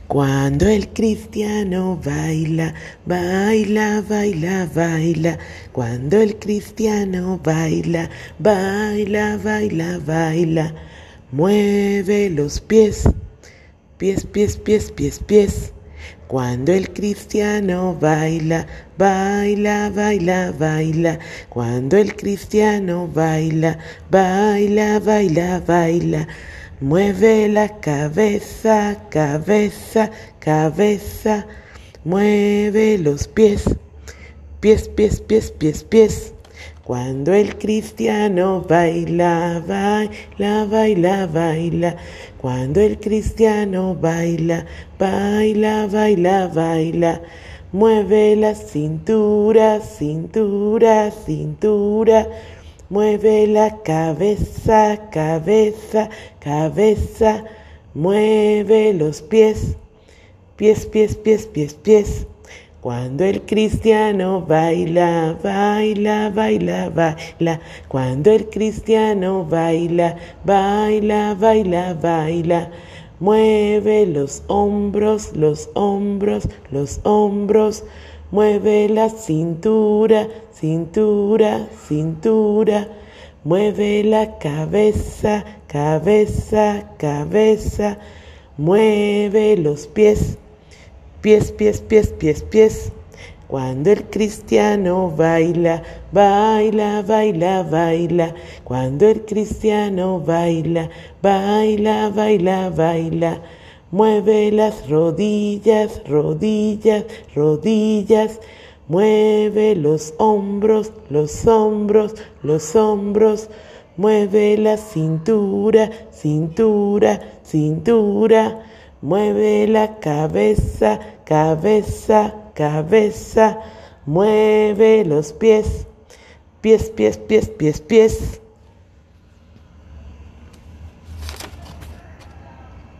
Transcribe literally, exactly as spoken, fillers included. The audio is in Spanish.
Cuando el cristiano baila, baila, baila, baila. Cuando el cristiano baila, baila, baila, baila. Mueve los pies, pies, pies, pies, pies, pies. Cuando el cristiano baila, baila, baila, baila. Cuando el cristiano baila, baila, baila, baila. Mueve la cabeza, cabeza, cabeza. Mueve los pies, pies, pies, pies, pies, pies. Cuando el cristiano baila, baila, baila, baila. Cuando el cristiano baila, baila, baila, baila. Mueve la cintura, cintura, cintura. Mueve la cabeza, cabeza, cabeza. Mueve los pies, pies, pies, pies, pies, pies. Cuando el cristiano baila, baila, baila, baila. Cuando el cristiano baila, baila, baila, baila. Mueve los hombros, los hombros, los hombros. Mueve la cintura, cintura, cintura. Mueve la cabeza, cabeza, cabeza. Mueve los pies, pies, pies, pies, pies, pies. Cuando el cristiano baila, baila, baila, baila. Cuando el cristiano baila, baila, baila, baila. Mueve las rodillas, rodillas, rodillas. Mueve los hombros, los hombros, los hombros. Mueve la cintura, cintura, cintura. Mueve la cabeza, cabeza, cabeza. Mueve los pies, pies, pies, pies, pies, pies.